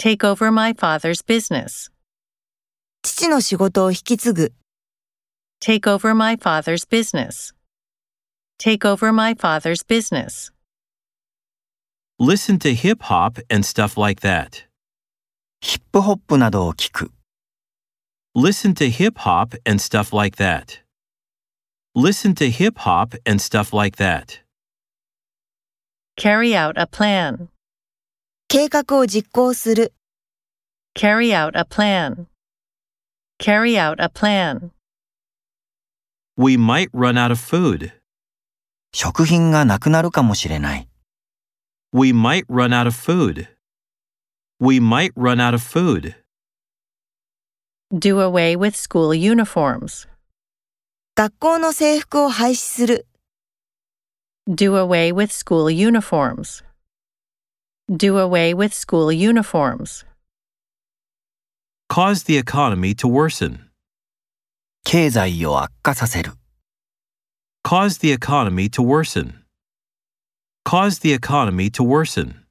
Take over my father's business. 父の仕事を引き継ぐ。 Take over my father's business. Take over my father's business. Listen to hip hop and stuff like that. ヒップホップなどを聞く。 Listen to hip hop and stuff like that. Listen to hip hop and stuff like that. Carry out a plan. 計画を実行する。 Carry out a plan. Carry out a plan. We might run out of food. 食品がなくなるかもしれない。 We might run out of food. We might run out of food. Do away with school uniforms. 学校の制服を廃止する。 Do away with school uniforms. Do away with school uniforms. Cause the economy to worsen. 経済を悪化させる。 Cause the economy to worsen. Cause the economy to worsen.